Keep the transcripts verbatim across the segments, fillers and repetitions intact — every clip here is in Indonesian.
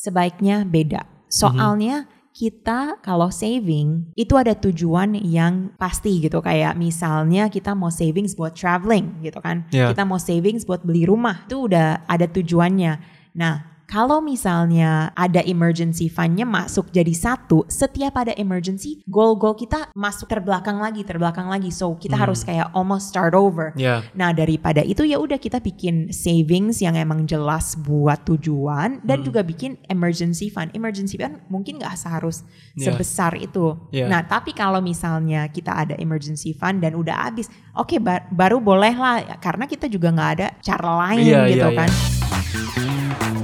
sebaiknya beda. Soalnya mm-hmm. kita kalau saving itu ada tujuan yang pasti gitu. Kayak misalnya kita mau savings buat traveling gitu kan. Yeah. Kita mau savings buat beli rumah. Itu udah ada tujuannya. Nah, kalau misalnya ada emergency fund-nya masuk jadi satu, setiap ada emergency, goal-goal kita masuk terbelakang lagi, terbelakang lagi. So kita hmm. harus kayak almost start over. Yeah. Nah daripada itu ya udah kita bikin savings yang emang jelas buat tujuan dan hmm. juga bikin emergency fund. Emergency fund mungkin nggak seharus yeah. sebesar itu. Yeah. Nah tapi kalau misalnya kita ada emergency fund dan udah habis, oke okay, bar- baru boleh lah karena kita juga nggak ada cara lain yeah, gitu yeah, kan. Yeah.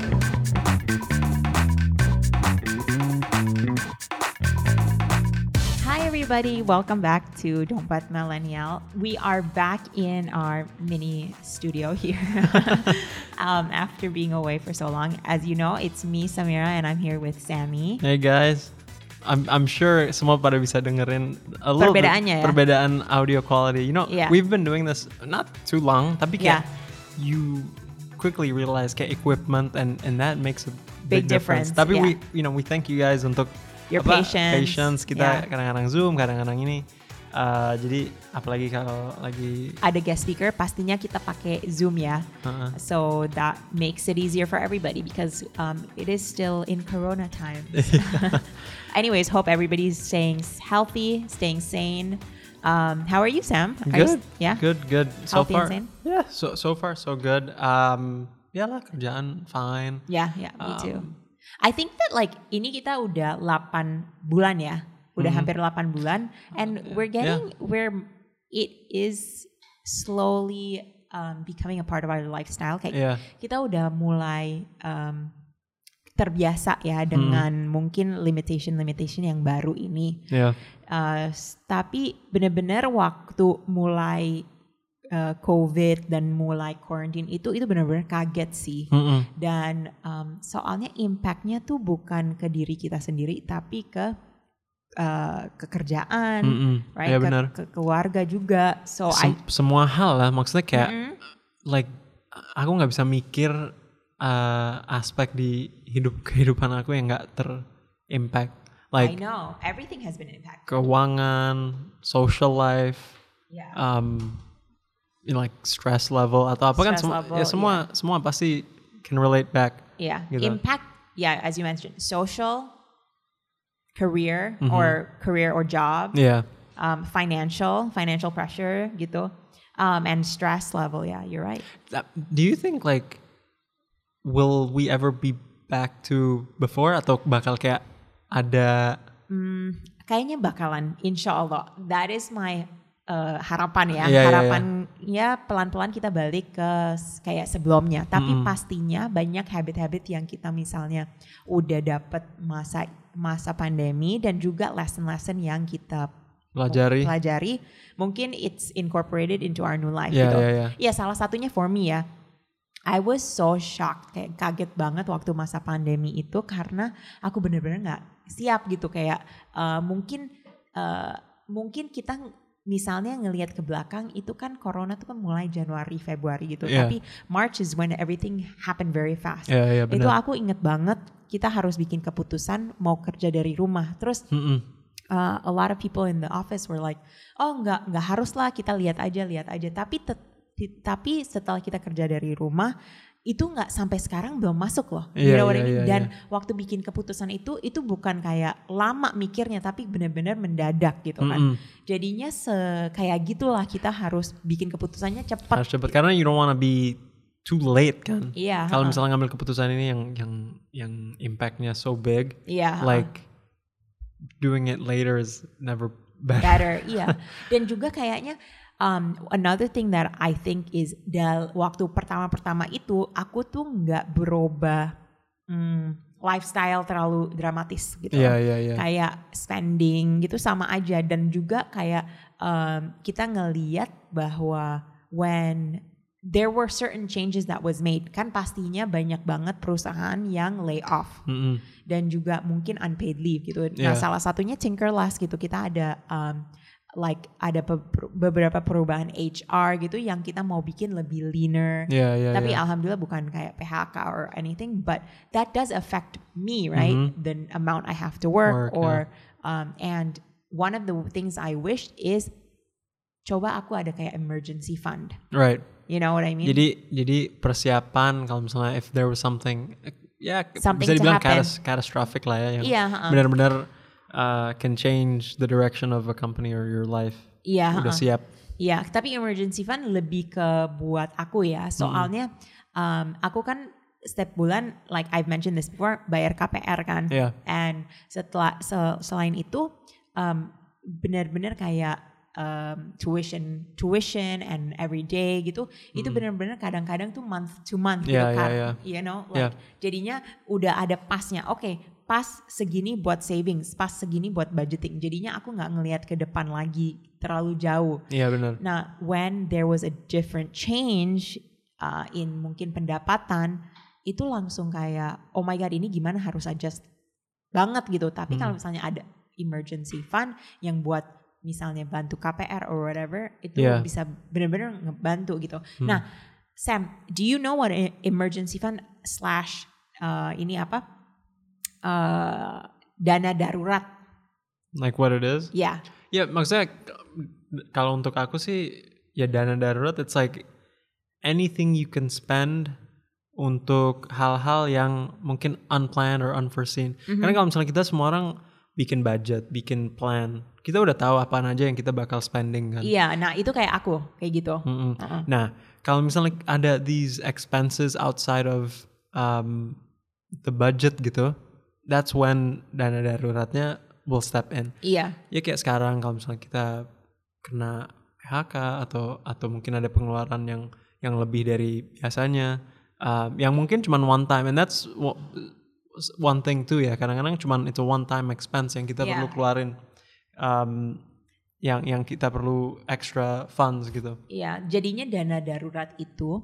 Everybody, welcome back to Dompet Millennial. We are back in our mini studio here um, after being away for so long. As you know, it's me, Samira, and I'm here with Sammy. Hey guys, I'm I'm sure semua pada bisa dengerin a little bit ya? perbedaan audio quality. You know, yeah. we've been doing this not too long, tapi kayak yeah. you quickly realize kayak equipment and and that makes a big, big difference. difference. Tapi yeah. we you know we thank you guys untuk your apa, patience. patience kita yeah. kadang-kadang Zoom, kadang-kadang ini. Uh, jadi apalagi kalau lagi ada guest speaker, pastinya kita pakai Zoom ya. Uh-uh. So that makes it easier for everybody because um, it is still in Corona times. Anyways, hope everybody's staying healthy, staying sane. Um, how are you, Sam? Are good. You, yeah. Good. Good. So healthy far, and sane? yeah. So so far so good. Um, ya lah kerjaan fine. Yeah, yeah. Me um, too. I think that like ini kita udah delapan bulan ya. Udah mm-hmm. hampir delapan bulan and uh, we're getting yeah. where it is slowly um, becoming a part of our lifestyle. Kayak yeah. kita udah mulai um, terbiasa ya dengan mm. mungkin limitation-limitation yang baru ini. Yeah. Uh, tapi benar-benar waktu mulai Uh, COVID dan mulai quarantine itu itu benar-benar kaget sih. Mm-mm. Dan um, soalnya impactnya tuh bukan ke diri kita sendiri tapi ke uh, kekerjaan, Mm-mm. right? Ya, ke, benar. ke keluarga juga. So Sem- I semua hal lah, maksudnya kayak mm-hmm. like aku nggak bisa mikir uh, aspek di hidup kehidupan aku yang nggak terimpact. Like I know everything has been impacted. Keuangan, social life. Yeah. Um, You know, like stress level atau apa stress kan semua level, ya semua yeah. semua pasti can relate back. Yeah, gitu. Impact. Yeah, as you mentioned, social, career mm-hmm. or career or job. Yeah. Um, financial, financial pressure gitu, um, and stress level. Yeah, you're right. Do you think like will we ever be back to before atau bakal kayak ada? Hmm, kayaknya bakalan, insya Allah. That is my Uh, harapan ya, yeah, harapan yeah, yeah. ya pelan-pelan kita balik ke kayak sebelumnya. Tapi mm. pastinya banyak habit-habit yang kita misalnya udah dapet masa masa pandemi dan juga lesson-lesson yang kita pelajari. pelajari, mungkin it's incorporated into our new life yeah, gitu. Yeah, yeah. Ya salah satunya for me ya, I was so shocked, kayak kaget banget waktu masa pandemi itu karena aku bener-bener nggak siap gitu kayak uh, mungkin uh, mungkin kita misalnya ngelihat ke belakang itu kan corona tuh kan mulai Januari Februari gitu, yeah. tapi March is when everything happened very fast. Yeah, yeah, itu aku inget banget kita harus bikin keputusan mau kerja dari rumah, terus uh, a lot of people in the office were like, oh nggak nggak harus lah, kita lihat aja lihat aja. Tapi te- tapi setelah kita kerja dari rumah itu nggak sampai sekarang belum masuk loh, you yeah, know what yeah, I mean? yeah, Dan yeah. waktu bikin keputusan itu, itu bukan kayak lama mikirnya, tapi benar-benar mendadak gitu kan. Mm-hmm. Jadinya se kayak gitulah kita harus bikin keputusannya cepat. Harus cepat karena you don't wanna be too late kan. Iya. Kalau uh-uh. misalnya ngambil keputusan ini yang yang yang impactnya so big, iya. like doing it later is never better. Better, iya. Dan juga kayaknya Um, another thing that I think is dal waktu pertama-pertama itu aku tuh nggak berubah hmm, lifestyle terlalu dramatis gitu. Yeah, yeah, yeah. Kayak spending gitu sama aja, dan juga kayak um, kita ngeliat bahwa when there were certain changes that was made, kan pastinya banyak banget perusahaan yang lay off mm-hmm. dan juga mungkin unpaid leave gitu. Yeah. Nah salah satunya Tinkerlust gitu, kita ada um, like ada be- beberapa perubahan H R gitu yang kita mau bikin lebih leaner. Yeah, yeah, Tapi yeah. alhamdulillah bukan kayak P H K or anything, but that does affect me, right? Mm-hmm. The amount I have to work, work or yeah. um, and one of the things I wished is coba aku ada kayak emergency fund. Right. You know what I mean? Jadi jadi persiapan kalau misalnya if there was something ya Something bisa dibilang happen. catas- catastrophic lah ya yang yeah, uh-uh. benar-benar uh, can change the direction of a company or your life. Iya, udah uh-uh. siap. Iya, tapi emergency fund lebih ke buat aku ya. Soalnya hmm. um, aku kan setiap bulan, like I've mentioned this before, bayar K P R kan. Yeah. And setelah sel, selain itu um, benar-benar kayak um, tuition, tuition and every day gitu. Hmm. Itu benar-benar kadang-kadang tuh month to month yeah, gitu kan. Yeah, yeah. You know, like yeah. jadinya udah ada pasnya. Oke. Okay, pas segini buat savings, pas segini buat budgeting. Jadinya aku nggak ngelihat ke depan lagi terlalu jauh. Iya benar. Nah, when there was a different change uh, in mungkin pendapatan, itu langsung kayak, oh my god, ini gimana harus adjust banget gitu. Tapi hmm. kalau misalnya ada emergency fund yang buat misalnya bantu K P R or whatever, itu yeah. bisa benar-benar ngebantu gitu. Hmm. Nah, Sam, do you know what emergency fund slash uh, ini apa? Uh, dana darurat. Like what it is? Ya. Yeah. Ya yeah, maksudnya kalau untuk aku sih ya dana darurat it's like anything you can spend untuk hal-hal yang mungkin unplanned or unforeseen. Mm-hmm. Karena kalau misalnya kita semua orang bikin budget, bikin plan, kita udah tahu apa aja yang kita bakal spending kan. Iya, nah itu kayak aku kayak gitu. Mm-hmm. Uh-uh. Nah kalau misalnya ada these expenses outside of um, the budget gitu, that's when dana daruratnya will step in. Iya. Ya kayak sekarang kalau misalnya kita kena P H K atau atau mungkin ada pengeluaran yang yang lebih dari biasanya, uh, yang mungkin cuma one time, and that's one thing too ya. Kadang-kadang cuma itu one time expense yang kita yeah. perlu keluarin, um, yang yang kita perlu extra funds gitu. Iya. Jadinya dana darurat itu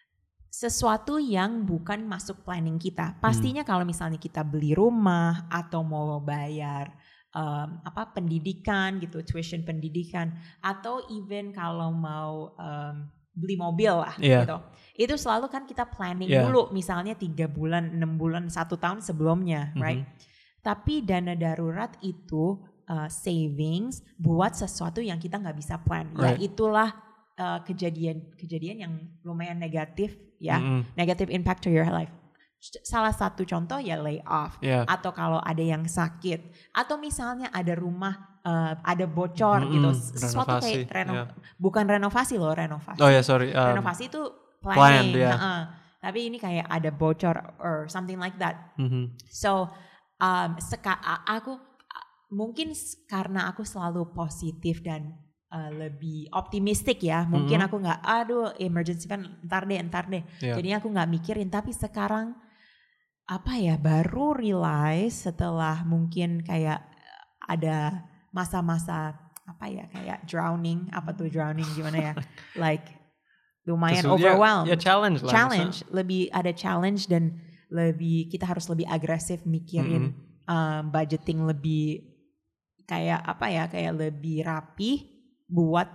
sesuatu yang bukan masuk planning kita. Pastinya hmm. kalau misalnya kita beli rumah atau mau bayar um, apa pendidikan gitu, tuition pendidikan, atau even kalau mau um, beli mobil lah yeah. gitu. Itu selalu kan kita planning yeah. dulu, misalnya tiga bulan, enam bulan, satu tahun sebelumnya, mm-hmm. right? Tapi dana darurat itu uh, savings buat sesuatu yang kita nggak bisa plan. Right. Ya itulah uh, kejadian-kejadian yang lumayan negatif. Ya, mm-hmm. negative impact to your life. Salah satu contoh ya layoff, yeah. atau kalau ada yang sakit, atau misalnya ada rumah uh, ada bocor mm-hmm. gitu, sesuatu renovasi, kayak reno, yeah. bukan renovasi loh, renovasi. Oh ya yeah, sorry. Um, renovasi itu planning, planned, yeah. uh-uh. tapi ini kayak ada bocor or something like that. Mm-hmm. So um, seka- aku mungkin karena aku selalu positif dan Uh, lebih optimistik ya, mungkin mm-hmm. aku nggak, aduh emergency fund entar deh, entar deh. Yeah. Jadinya aku nggak mikirin. Tapi sekarang apa ya, baru realize setelah mungkin kayak ada masa-masa apa ya, kayak drowning, apa tuh drowning gimana ya, like lumayan Terus, overwhelmed. Ya, ya challenge lah. Challenge, misalnya. lebih ada challenge dan lebih kita harus lebih agresif mikirin mm-hmm. um, budgeting lebih kayak apa ya, kayak lebih rapi buat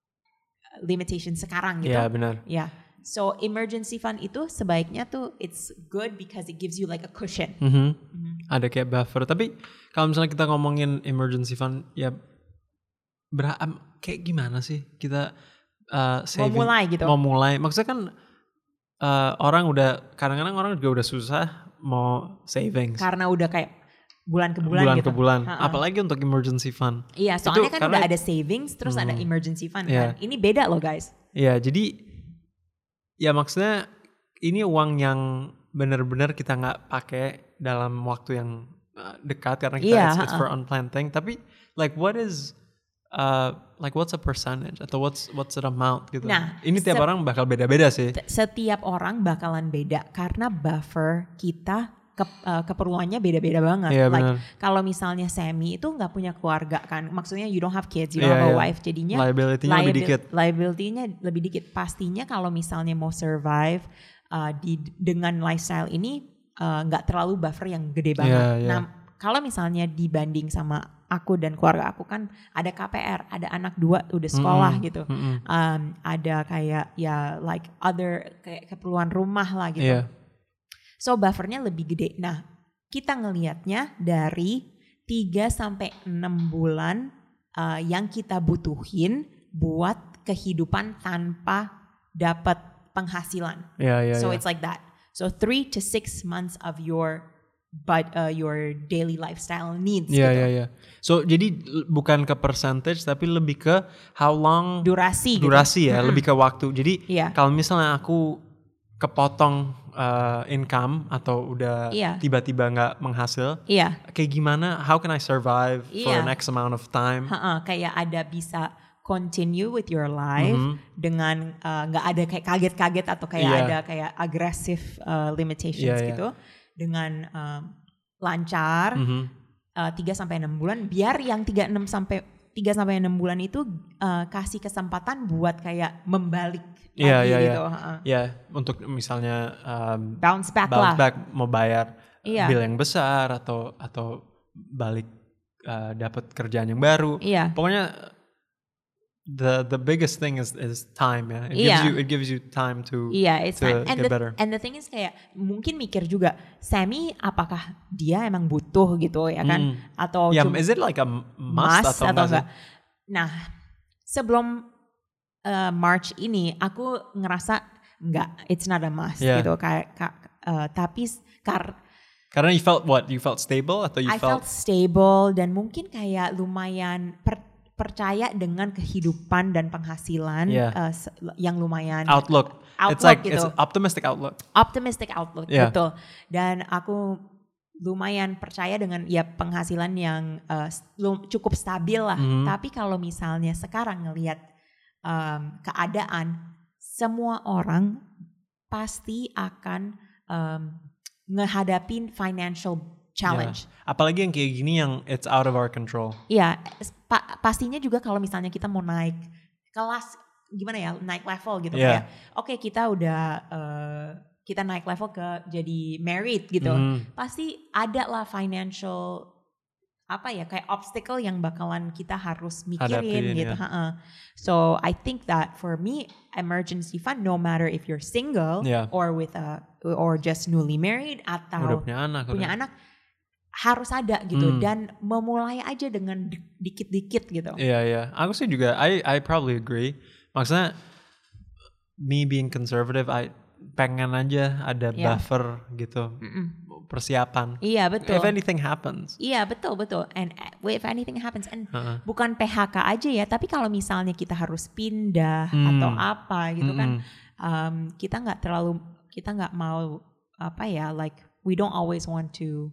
limitation sekarang gitu. Iya benar. Ya, yeah. So emergency fund itu sebaiknya tuh it's good because it gives you like a cushion. Mm-hmm. Mm-hmm. Ada kayak buffer. Tapi kalau misalnya kita ngomongin emergency fund, ya berapa kayak gimana sih kita uh, saving? Mau mulai gitu. Mau mulai. Maksudnya kan uh, orang udah kadang-kadang orang juga udah susah mau savings. Karena udah kayak bulan ke bulan, bulan gitu. ke bulan, Ha-ha. apalagi untuk emergency fund. Iya, soalnya itu kan udah ada savings, terus hmm, ada emergency fund yeah. kan. Ini beda loh guys. Iya, jadi ya maksudnya ini uang yang benar-benar kita nggak pakai dalam waktu yang dekat karena kita yeah, it's, it's for unplanned thing. Tapi like what is uh, like what's a percentage atau what's what's the amount gitu. Nah, ini tiap se- orang bakal beda-beda sih. Setiap orang bakalan beda karena buffer kita Ke, uh, keperluannya beda-beda banget. Yeah, like kalau misalnya Sammy itu nggak punya keluarga kan, maksudnya you don't have kids, you yeah, don't have a yeah. wife, jadinya liability-nya liabil- lebih dikit. Liability-nya lebih dikit. Pastinya kalau misalnya mau survive uh, di dengan lifestyle ini nggak uh, terlalu buffer yang gede banget. Yeah, yeah. Nah kalau misalnya dibanding sama aku dan keluarga aku kan ada K P R, ada anak dua udah sekolah mm-hmm. gitu, mm-hmm. um, ada kayak ya like other kayak keperluan rumah lah gitu. Yeah. So buffernya lebih gede. Nah kita ngelihatnya dari tiga sampai enam bulan uh, yang kita butuhin buat kehidupan tanpa dapat penghasilan. Yeah, yeah, so yeah. it's like that. So three to six months of your but uh, your daily lifestyle needs. Yeah, gitu. yeah, yeah. So jadi bukan ke percentage tapi lebih ke how long durasi. Durasi gitu. ya, mm-hmm. lebih ke waktu. Jadi yeah. kalau misalnya aku kepotong uh, income atau udah yeah. tiba-tiba nggak menghasil, yeah. kayak gimana? How can I survive yeah. for an X amount of time? Ha-ha, kayak ada bisa continue with your life mm-hmm. dengan nggak uh, ada kayak kaget-kaget atau kayak yeah. ada kayak aggressive uh, limitations yeah, gitu yeah. dengan uh, lancar mm-hmm. uh, tiga sampai enam bulan biar yang tiga enam sampai tiga sampai enam bulan itu uh, kasih kesempatan buat kayak membalik yeah, lagi yeah, gitu. Ya, yeah. yeah, untuk misalnya um, bounce back bounce lah. back mau bayar yeah. bill yang besar atau atau balik uh, dapat kerjaan yang baru. Yeah. Pokoknya the the biggest thing is is time ya. It yeah. gives you it gives you time to yeah, it's to and get the, better. And the thing is kayak mungkin mikir juga Sammy apakah dia emang butuh gitu ya kan mm. atau yeah, cuma is it like a must, must atau, atau enggak? Nah, sebelum uh, March ini aku ngerasa enggak, it's not a must yeah. gitu kayak uh, tapi kar karena you felt what? You felt stable atau you I felt, felt stable dan mungkin kayak lumayan per percaya dengan kehidupan dan penghasilan yeah. uh, yang lumayan outlook. outlook it's like gitu. It's optimistic outlook. Optimistic outlook yeah. betul. Dan aku lumayan percaya dengan ya penghasilan yang uh, cukup stabil lah. Mm-hmm. Tapi kalau misalnya sekarang ngelihat um, keadaan, semua orang pasti akan um, ngehadapin financial challenge. Yeah. Apalagi yang kayak gini yang it's out of our control. Iya, pa- pastinya juga kalau misalnya kita mau naik kelas, gimana ya, naik level gitu yeah. kayak, oke okay, kita udah uh, kita naik level ke jadi married gitu, mm. pasti ada lah financial apa ya kayak obstacle yang bakalan kita harus mikirin Hadapin, gitu. Yeah. So I think that for me emergency fund, no matter if you're single yeah. or with a or just newly married atau udah punya anak, punya udah. anak harus ada gitu hmm. dan memulai aja dengan dikit-dikit gitu. Iya yeah, iya, yeah. Aku sih juga I I probably agree. Maksudnya me being conservative, I pengen aja ada yeah. buffer gitu. Mm-mm. Persiapan. Iya betul. If anything happens. Iya betul betul. And if anything happens, and uh-huh. bukan P H K aja ya, tapi kalau misalnya kita harus pindah hmm. atau apa gitu hmm. kan, um, kita nggak terlalu kita nggak mau apa ya, like we don't always want to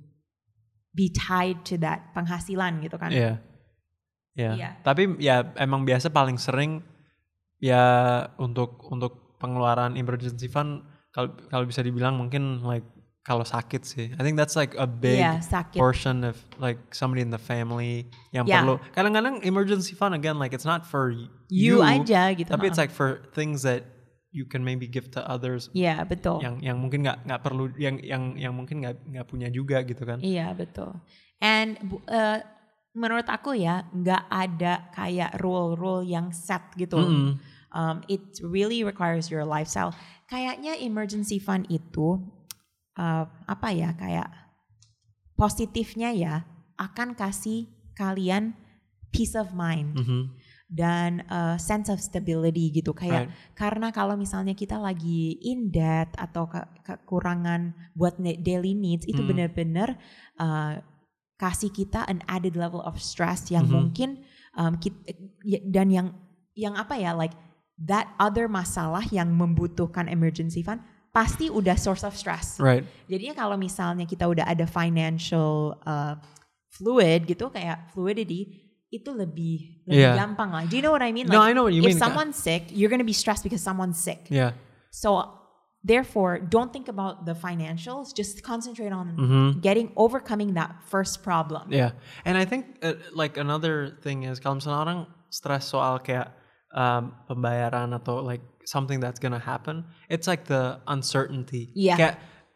be tied to that penghasilan gitu kan. Iya. Yeah. Yeah. Yeah. Tapi ya emang biasa paling sering ya untuk untuk pengeluaran emergency fund kalau kalau bisa dibilang mungkin like kalau sakit sih. I think that's like a big yeah, portion of like somebody in the family yang yeah. perlu. Kadang-kadang emergency fund again like it's not for you, you aja gitu. Tapi it's like for things that you can maybe give to others. Iya, yeah, betul. Yang yang mungkin nggak nggak perlu yang yang yang mungkin nggak nggak punya juga gitu kan. Iya, yeah, betul. And uh, menurut aku ya nggak ada kayak rule-rule yang set gitu. Mm-hmm. Um, it really requires your lifestyle. Kayaknya emergency fund itu uh, apa ya kayak positifnya ya akan kasih kalian peace of mind. Mm-hmm. Dan uh, sense of stability gitu kayak right. Karena kalau misalnya kita lagi in debt atau ke- kekurangan buat daily needs itu mm. benar-benar uh, kasih kita an added level of stress yang mm-hmm. mungkin um, kita, dan yang yang apa ya like that other masalah yang membutuhkan emergency fund pasti udah source of stress. Right. Jadinya kalau misalnya kita udah ada financial uh, fluid gitu kayak fluidity itu lebih lebih yeah. gampang lah. Do you know what I mean? Like, no, I know what you if mean. If someone's sick, you're gonna be stressed because someone's sick. Yeah. So therefore, don't think about the financials. Just concentrate on mm-hmm. getting overcoming that first problem. Yeah, and I think uh, like another thing is kalau misalnya orang stress soal kayak um, pembayaran atau like something that's gonna happen, it's like the uncertainty. Yeah. Kayak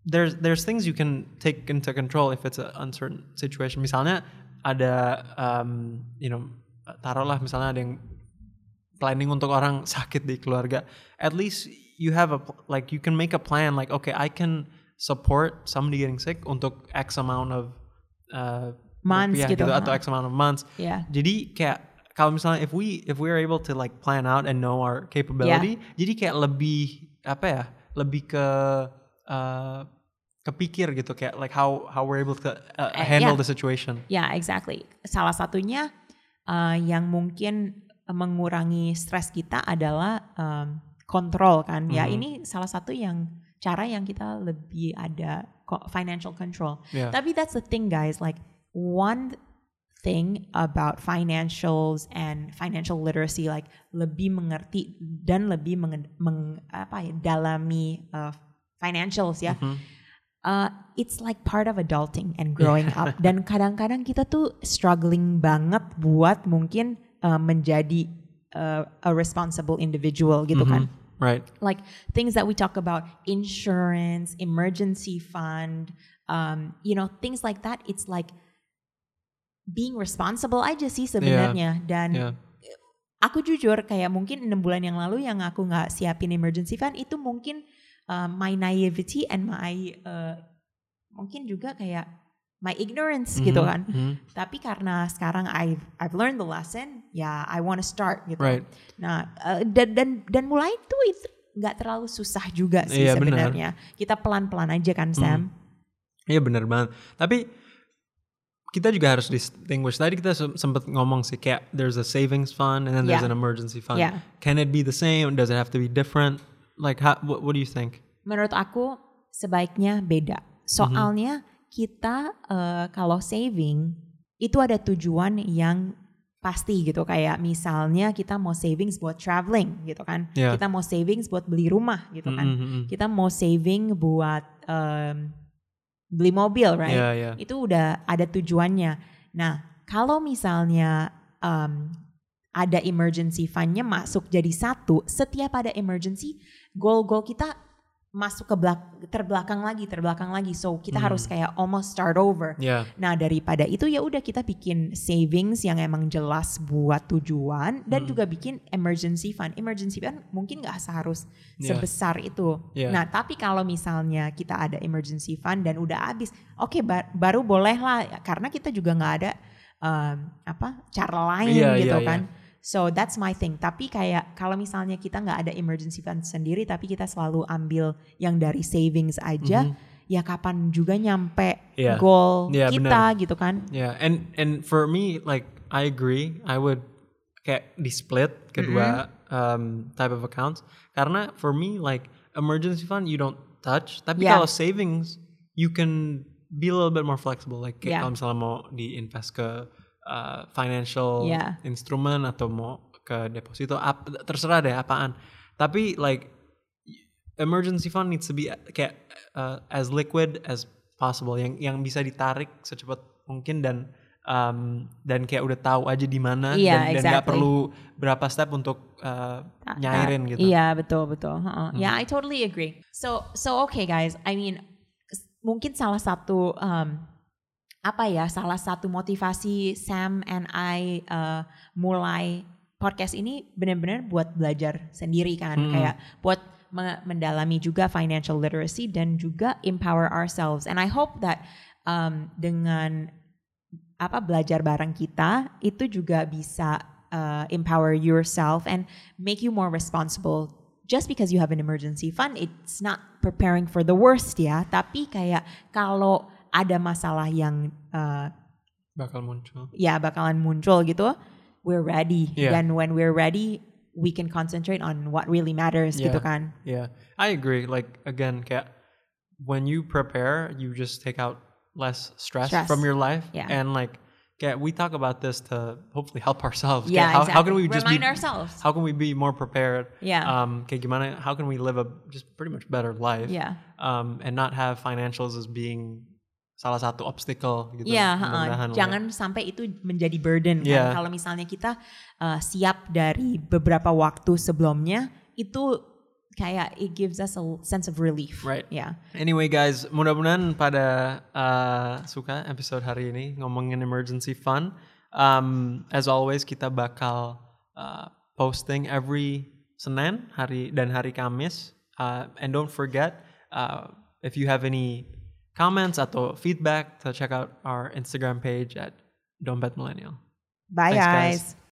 there's there's things you can take into control if it's an uncertain situation. Misalnya ada um, you know taruhlah misalnya ada yang planning untuk orang sakit di keluarga. At least you have a like you can make a plan like okay I can support somebody getting sick untuk X amount of uh, months gitu, gitu atau X amount of months. Yeah. Jadi kayak kalau misalnya if we if we are able to like plan out and know our capability, yeah. jadi kayak lebih apa ya, lebih ke uh, kepikir gitu kayak like how how we're able to uh, handle uh, yeah. the situation. Yeah, exactly. Salah satunya uh, yang mungkin mengurangi stres kita adalah um, kontrol kan. Mm-hmm. Ya ini salah satu yang cara yang kita lebih ada financial control. Yeah. Tapi that's the thing guys, like one thing about financials and financial literacy, like lebih mengerti dan lebih meng, meng apa ya dalami uh, financials ya. Mm-hmm. Uh, it's like part of adulting and growing up. Dan kadang-kadang kita tuh struggling banget buat mungkin uh, menjadi uh, a responsible individual gitu mm-hmm. kan. Right. Like things that we talk about, insurance, emergency fund, um, you know, things like that. It's like being responsible aja sih sebenarnya. Yeah. Dan yeah. aku jujur kayak mungkin enam bulan yang lalu yang aku nggak siapin emergency fund itu mungkin uh, my naivety and my uh, mungkin juga kayak my ignorance mm-hmm. gitu kan. Mm-hmm. Tapi karena sekarang I've I've learned the lesson, ya yeah, I want to start gitu. Right. Nah uh, dan dan dan mulai itu nggak terlalu susah juga sih yeah, sebenarnya. Benar. Kita pelan-pelan aja kan Sam. Iya mm. benar banget. Tapi kita juga harus distinguish. Tadi kita sempat ngomong sih kayak there's a savings fund and then there's yeah. an emergency fund. Yeah. Can it be the same? Does it have to be different? Like how, what, what do you think? Menurut aku sebaiknya beda. Soalnya mm-hmm. kita uh, kalau saving itu ada tujuan yang pasti gitu. Kayak misalnya kita mau savings buat traveling gitu kan. Yeah. Kita mau savings buat beli rumah gitu kan. Mm-hmm. Kita mau saving buat um, beli mobil, right? Yeah, yeah. Itu udah ada tujuannya. Nah, kalau misalnya um, ada emergency fund-nya masuk jadi satu, setiap ada emergency, goal-goal kita masuk ke belak- terbelakang lagi, terbelakang lagi. So kita hmm. harus kayak almost start over. Yeah. Nah, daripada itu ya udah kita bikin savings yang emang jelas buat tujuan dan hmm. juga bikin emergency fund. Emergency fund mungkin nggak seharus yeah. sebesar itu. Yeah. Nah, tapi kalau misalnya kita ada emergency fund dan udah habis, oke okay, bar- baru boleh lah karena kita juga nggak ada um, apa cara lain yeah, gitu yeah, kan. Yeah. So that's my thing. Tapi kayak kalau misalnya kita nggak ada emergency fund sendiri, tapi kita selalu ambil yang dari savings aja, mm-hmm. ya kapan juga nyampe yeah. goal yeah, kita bener. Gitu kan? Yeah, and and for me like I agree. I would kayak di split kedua mm-hmm. um, type of accounts. Karena for me like emergency fund you don't touch. Tapi yeah. kalau savings you can be a little bit more flexible. Like kayak yeah. kalau misalnya mau diinvest ke Uh, financial yeah. instrument atau mau ke deposito ap, terserah deh apaan. Tapi like emergency fund needs to be kayak uh, as liquid as possible, yang yang bisa ditarik secepat mungkin dan um, dan kayak udah tahu aja di mana yeah, dan exactly. dan nggak perlu berapa step untuk uh, nyairin gitu. Iya yeah, betul betul. Uh-uh. Hmm. Yeah, I totally agree. So so okay guys, I mean mungkin salah satu um, apa ya salah satu motivasi Sam and I uh, mulai podcast ini benar-benar buat belajar sendiri kan hmm. kayak buat me- mendalami juga financial literacy dan juga empower ourselves, and I hope that um, dengan apa belajar bareng kita itu juga bisa uh, empower yourself and make you more responsible. Just because you have an emergency fund, it's not preparing for the worst ya, tapi kayak kalau ada masalah yang uh, bakal muncul. Ya, bakalan muncul gitu. We're ready. Yeah. Dan when we're ready, we can concentrate on what really matters yeah. gitu kan. Yeah. I agree. Like again, kayak when you prepare, you just take out less stress, stress. from your life. Yeah. And like kayak we talk about this to hopefully help ourselves. Yeah, how, exactly. how can we just remind be, ourselves? How can we be more prepared? Yeah. Um, kayak gimana? How can we live a just pretty much better life? Yeah. Um, and not have financials as being salah satu obstacle gitu. Iya, uh, jangan sampai itu menjadi burden yeah. kan. Kalau misalnya kita uh, siap dari beberapa waktu sebelumnya, itu kayak it gives us a sense of relief. Right. Yeah. Anyway guys, mudah-mudahan pada uh, suka episode hari ini ngomongin emergency fund. Um, as always kita bakal uh, posting every Senin hari dan hari Kamis. Uh, and don't forget uh, if you have any comments atau feedback to check out our Instagram page at Dompet Millennial. Bye. Thanks, guys. guys.